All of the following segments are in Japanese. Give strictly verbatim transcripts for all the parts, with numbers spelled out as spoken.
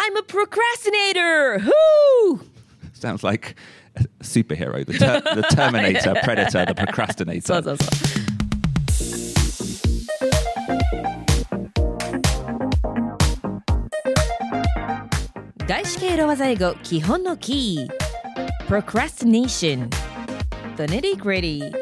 I'm a procrastinator! Whoo! Sounds like a superhero. The, ter- the Terminator, Predator, the procrastinator. そうそうそう。外資系ロワザ英語基本のキー Procrastination The nitty gritty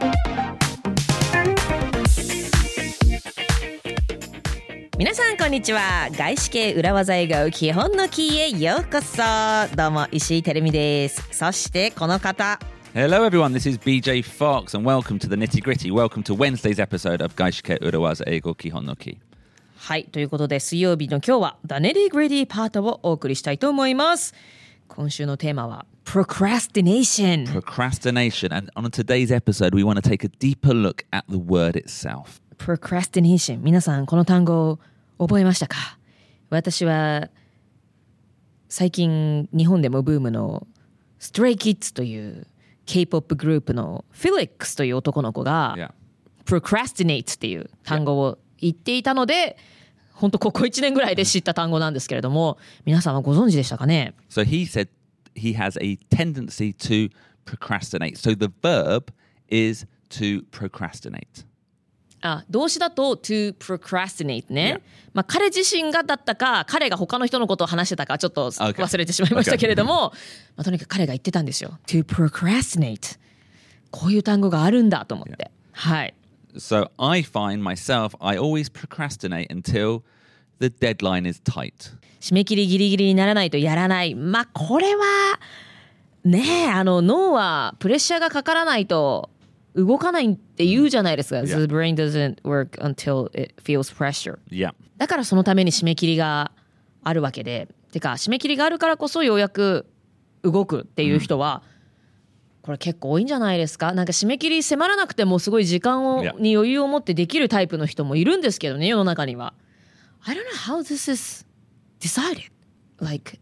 皆さんこんにちは。外資系裏技英語基本のキーへようこそ。どうも石井てるみです。そしてこの方 Hello everyone, this is B J Fox and welcome to the nitty gritty. Welcome to Wednesday's episode of Gaishike Urawaza Eigo Kihon no Ki. はい、ということで水曜日の今日は The Nitty Gritty パートをお送りしたいと思います。今週のテーマは Procrastination. Procrastination. And on today's episode, we want to take a deeper look at the word itself. Procrastination. 皆さんこの単語を覚えましたか？私は最近日本でもブームの Stray Kids という K-ポップ グループの Felix という男の子が Yeah. Procrastinate っていう単語を言っていたので、本当ここいちねんぐらいで知った単語なんですけれども、皆さんはご存知でしたかね？ So he said he has a tendency to procrastinate. So the verb is to procrastinate. あ、動詞だと to procrastinate ね。 Yeah. まあ彼自身がだったか、彼が他の人のことを話してたかちょっと Okay. 忘れてしまいましたけれども、まあ、とにかく彼が言ってたんですよ。to procrastinate。こういう単語があるんだと思って。Yeah. はい。 So I find myself, I always procrastinate until the deadline is tight. 締め切りギリギリにならないとやらない。まあこれはねえ、あの脳はプレッシャーがかからないと動かないって言うじゃないですか。 Yeah. The brain doesn't work until it feels pressure. Yeah. だからそのために締め切りがあるわけで、てか締め切りがあるからこそようやく動くっていう人は、うんこれ結構多いんじゃないですか。なんか締め切り迫らなくてもすごい時間を、 Yeah. に余裕を持ってできるタイプの人もいるんですけどね、世の中には。I don't know how this is decided. Like,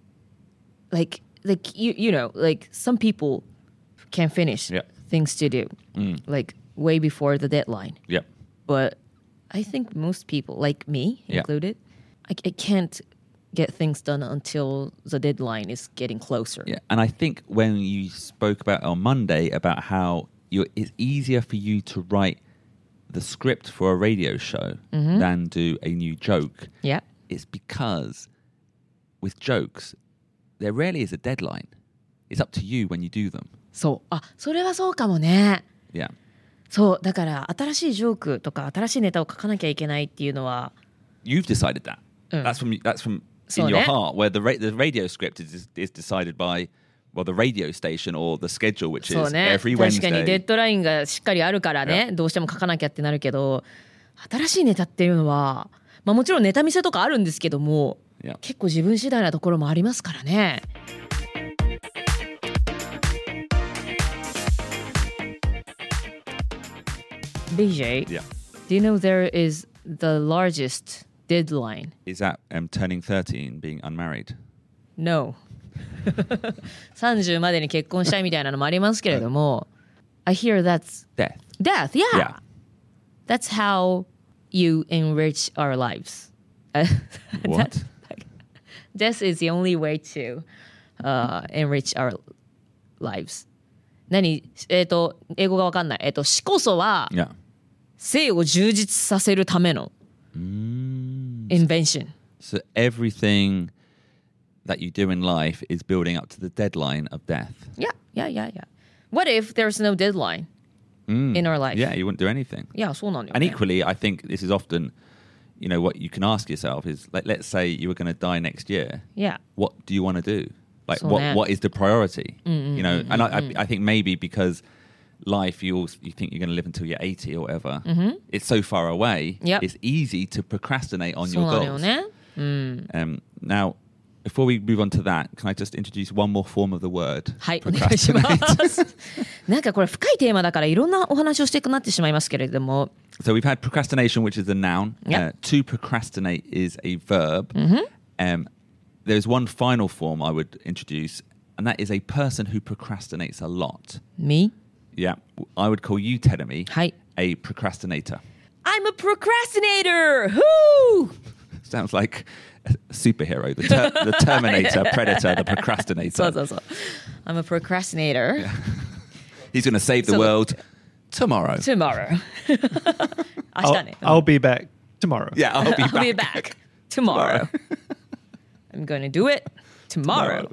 like, like you, you know, like some people can finish Yeah. things to do, Mm. like way before the deadline. Yep. But I think most people, like me Yeah. included, I, I can't get things done until the deadline is getting closer. Yeah, and I think when you spoke about on Monday about how you're, it's easier for you to write the script for a radio show Mm-hmm. than do a new joke, Yeah. it's because with jokes, there rarely is a deadline. It's up to you when you do them. そう。あ、それはそうかもね。 Yeah. そう。だから新しいジョークとか新しいネタを書かなきゃいけないっていうのは You've decided that. Mm. That's from that's from So in your ne- heart, where the ra- the radio script is is decided by well the radio station or the schedule, which そう is ね。 every 確かにデ Wednesday. ッドラインがしっかりあるからね、どうしても書かなきゃってなるけど、新しいネタっていうのは、まあもちろんネタ見せとかあるんですけども、 Yeah. 結構自分次第なところもありますからね。B J, Yeah. do you know there is the largest deadline? Is that um, turning thirteen, being unmarried? No. さんじゅうまでに結婚したいみたいなのもありますけれども、I hear that's Death. death. Yeah. Yeah. That's how you enrich our lives. What? Death is the only way to、uh, enrich our lives. 何えっ、と英語がわかんない。えっ、と死こそは Yeah. 生を充実させるための invention. So everything that you do in life is building up to the deadline of death. Yeah, yeah, yeah, yeah. What if there's no deadline in our life? Yeah, you wouldn't do anything. いや、そうなんだよ And ね。 equally, I think this is often, you know, what you can ask yourself is, like, let's say you were going to die next year. Yeah. What do you want to do? Like, So what that- what is the priority? You know, and I, I I think maybe because life you also, you think you're going to live until you're eighty or whatever. It's so far away. Yep. It's easy to procrastinate on そう your なのよ goals. ね。うん。 Um, now, before we move on to that, can I just introduce one more form of the word? はい、お願いします。なんかこれ深いテーマだからいろんなお話をしていくなってしまいますけれども。 So we've had procrastination, which is a noun. Yep. Uh, to procrastinate is a verb. Um, there's one final form I would introduce, and that is a person who procrastinates a lot. Me? Yeah, I would call you, Terumi, はい。 a procrastinator. I'm a procrastinator! Whoo! Sounds like a superhero, the, ter- the Terminator, Predator, the procrastinator. そうそうそう。I'm a procrastinator. He's going to save the So- world tomorrow. Tomorrow. 明 I'll, 日ね。 I'll be back tomorrow. Yeah, I'll be I'll back. be back tomorrow. I'm going to do it tomorrow.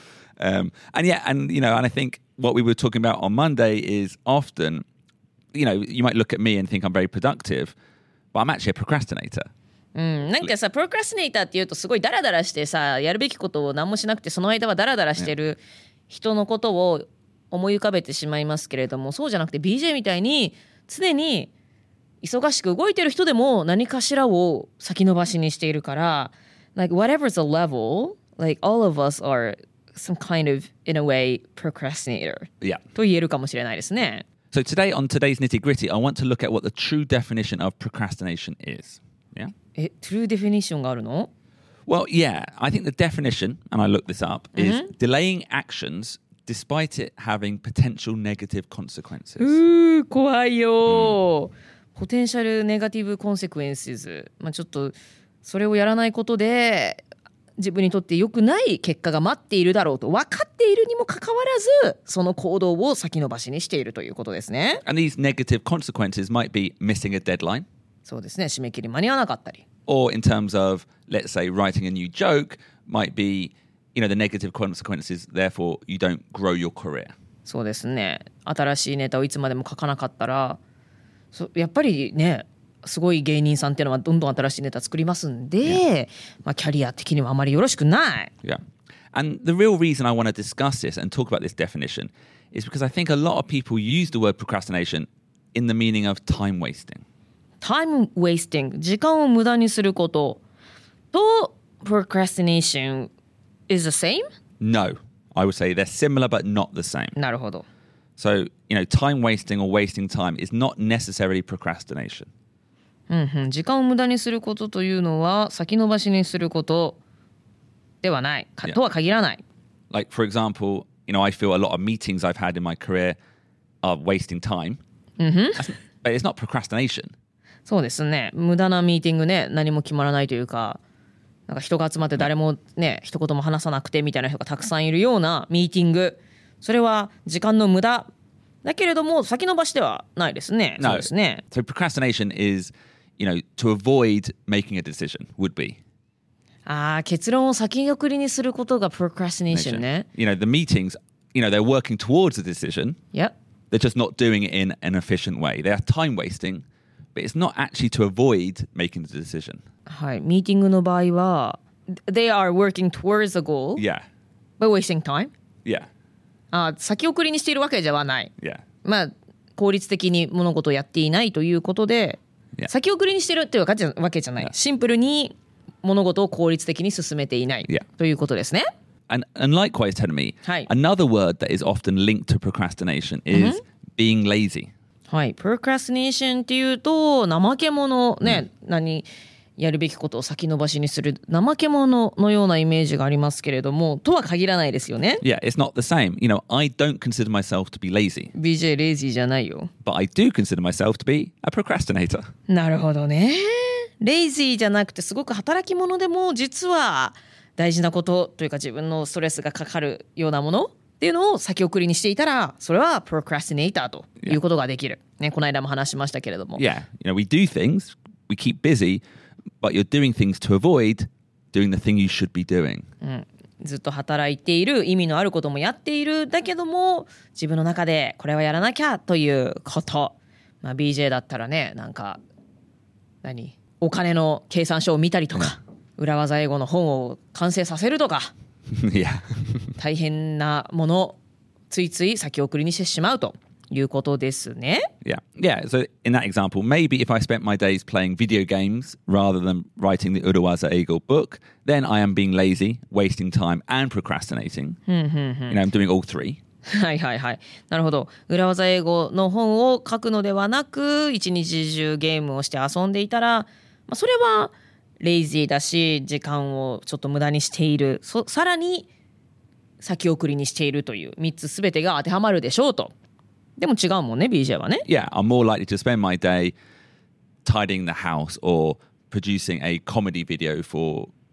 Um, and yeah, and you know, and I think what we were talking about on Monday is often, you know, you might look at me and think I'm very productive, but I'm actually a procrastinator. うん、なんかさ、プロクラスネーターっていうとすごいダラダラしてさ、やるべきことを何もしなくてその間はダラダラしてる人のことを思い浮かべてしまいますけれども、そうじゃなくて ビージェー みたいに常に忙しく動いてる人でも何かしらを先延ばしにしているから、like whatever's the level, like all of us are some kind of, in a way, procrastinator Yeah. と言えるかもしれないですね。 So today on today's nitty gritty, I want to look at what the true definition of procrastination is. Yeah. え、トゥルーデフィニッションがあるの？ Well, yeah, I think the definition, and I looked this up, is delaying actions despite it having potential negative consequences. うー怖いよ、ポテンシャルネガティブコンセクエンシズ、まあ、ちょっとそれをやらないことで自分にとって良くない結果が待っているだろうと分かっているにもかかわらずその行動を先延ばしにしているということですね。 And these negative consequences might be missing a deadline, そうですね、締め切り間に合わなかったり、 or in terms of, let's say, writing a new joke, might be, you know, the negative consequences, therefore you don't grow your career. そうですね、新しいネタをいつまでも書かなかったらそやっぱりね、すごい芸人さんっていうのはどんどん新しいネタ作りますんで、まあ、キャリア的にはあまりよろしくない。 Yeah. And the real reason I want to discuss this and talk about this definition is because I think a lot of people use the word procrastination in the meaning of time wasting. time wasting 時間を無駄にすることと procrastination is the same? No, I would say they're similar but not the same. なるほど。 So, you know, time wasting or wasting time is not necessarily procrastination. うんうん、時間を無駄にすることというのは先延ばしにすることではないか Yeah. とは限らない。 Like, for example, you know, I feel a lot of meetings I've had in my career are wasting time. That's- But it's not procrastination. そうですね、無駄なミーティングね、何も決まらないというか、なんか人が集まって誰もね一言も話さなくてみたいな人がたくさんいるようなミーティング、それは時間の無駄だけれども先延ばしではないですね。 No. そうですね。 So procrastination is, you know, to avoid making a decision would be. ああ、結論を先送りにすることが procrastination ね。 You know, the meetings, you know, they're working towards a decision. Yep. They're just not doing it in an efficient way. They are time wasting, but it's not actually to avoid making the decision. はい、ミーティングの場合は they are working towards a goal Yeah. by wasting time. Yeah. あー先送りにしているわけではない。 Yeah. まあ効率的に物事をやっていないということで、 Yeah. 先送りにしてるっていうわけじゃわけじゃない。 Yeah. シンプルに物事を効率的に進めていない Yeah. ということですね。 And, and likewise, tell me, Hi. another word that is often linked to procrastination is being lazy. はい、procrastination っていうと怠け者ね、何やるべきことを先延ばしにする怠け者のようなイメージがありますけれども、とは限らないですよね。 Yeah, it's not the same. You know, I don't consider myself to be lazy, ビージェー レイジーじゃないよ。 but I do consider myself to be a procrastinator. なるほどね。レイジーじゃなくてすごく働き者でも実は大事なことというか自分のストレスがかかるようなものっていうのを先送りにしていたらそれはプロクラスティネーターということができる、ね、この間も話しましたけれども、 Yeah, you know, we do things, we keep busy, but you're doing things to avoid doing the thing you should be doing. ずっと働いている意味のあることもやっているだけども自分の中でこれはやらなきゃということ、まあ、ビージェー だったらねなんか何お金の計算書を見たりとか裏技英語の本を完成させるとか Yeah. 大変なものついつい先送りにしてしまうということですね。 Yeah. Yeah. So in that example, maybe if I spent my days playing video games rather than writing the Urawaza Eagle book, then I am being lazy, wasting time and procrastinating. You know, I'm doing all three. はいはいはい。なるほど。裏技英語の本を書くのではなく一日中ゲームをして遊んでいたら、まあ、それはレイジーだし時間をちょっと無駄にしている、そさらに先送りにしているというみっつすべてが当てはまるでしょうと。でも違うもんね ビージェー はね。 Yeah. I'm more likely to spend my day tidying the house or producing a comedy video for,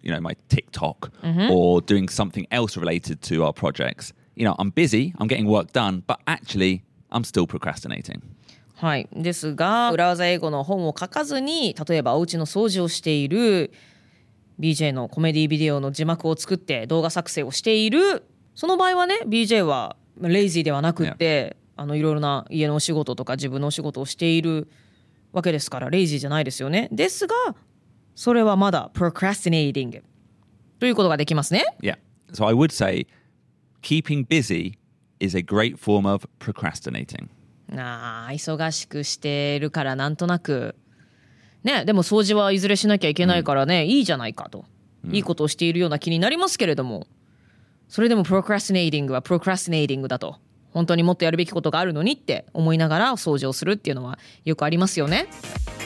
you know, my TikTok or doing something else related to our projects. You know, I'm busy, I'm getting work done, but actually, I'm still procrastinating. はい、ですが裏技英語の本を書かずに例えばお家の掃除をしている ビージェー のコメディビデオの字幕を作って動画作成をしているその場合はね ビージェー はレイジーではなくって、yeah. あのいろいろな家のお仕事とか自分のお仕事をしているわけですからレイジーじゃないですよね。ですがそれはまだ procrastinating ということができますね。 Yeah, so I would say keeping busy is a great form of procrastinating. あ忙しくしてるからなんとなくね、でも掃除はいずれしなきゃいけないからね、うん、いいじゃないかと、うん、いいことをしているような気になりますけれどもそれでも procrastinating は procrastinating だと本当にもっとやるべきことがあるのにって思いながら掃除をするっていうのはよくありますよね。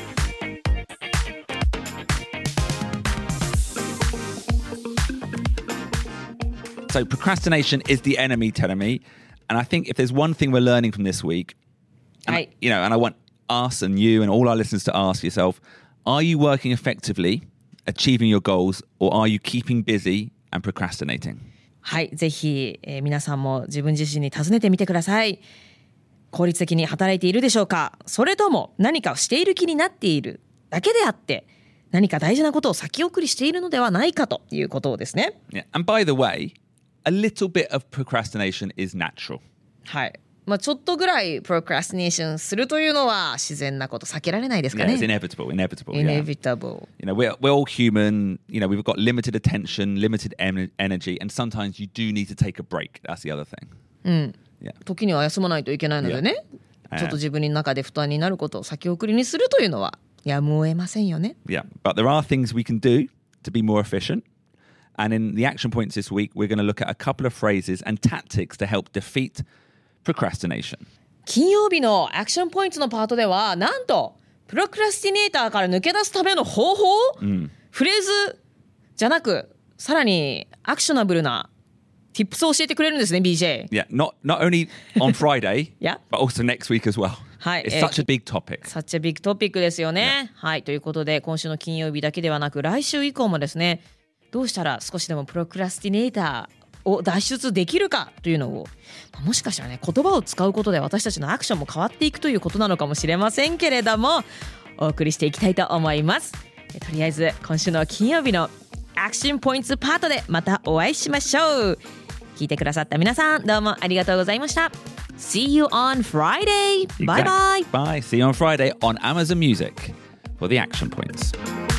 So procrastination is the enemy, telling me. And I think if there's one thing we're learning from this week, and, I, you know, and I want us and you and all our listeners to ask yourself, are you working effectively, achieving your goals, or are you keeping busy and procrastinating? はい、ぜひ、えー、皆さんも自分自身に尋ねてみてください。効率的に働いているでしょうか？それとも何かをしている気になっているだけであって何か大事なことを先送りしているのではないかということをですね。 Yeah. And by the way, a little bit of procrastination is natural. はい。まあ、ちょっとぐらい procrastination するというのは自然なこと避けられないですかね。 Yeah, it's inevitable, inevitable. Inevitable. Yeah. You know, we're, we're all human. You know, we've got limited attention, limited em- energy, and sometimes you do need to take a break. That's the other thing. うん。Yeah. 時には休まないといけないのでね。Yeah. ちょっと自分の中で負担になることを先送りにするというのはやむを得ませんよね。 Yeah, but there are things we can do to be more efficient. And in the action points this week, we're going to look at a couple of phrases and tactics to help defeat procrastination. 金曜日のアクションポイントのパートではなんとプロクラスティネーターから抜け出すための方法、うん、フレーズじゃなくさらにアクショナブルな tips を教えてくれるんですね ビージェー. Yeah, not, not only on Friday, yeah. but also next week as well. はい、It's such a big topic. Such a big topic ですよね。Yeah. はい、ということで今週の金曜日だけではなく来週以降もですねどうしたら少しでもプロクラスティネーターを脱出できるかというのをもしかしたらね言葉を使うことで私たちのアクションも変わっていくということなのかもしれませんけれどもお送りしていきたいと思います。とりあえず今週の金曜日のアクションポイントパートでまたお会いしましょう。聞いてくださった皆さんどうもありがとうございました。 See you on Friday. Bye bye. Bye. See you on Friday on Amazon Music for the action points.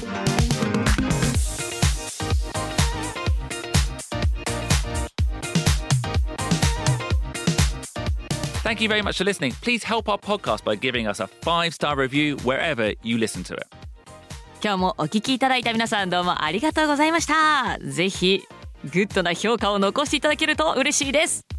Thank you very much for listening. Please help our podcast by giving us a five-star review wherever you listen to it. 今日もお聞きいただいた皆さんどうもありがとうございました。ぜひグッドな評価を残していただけると嬉しいです。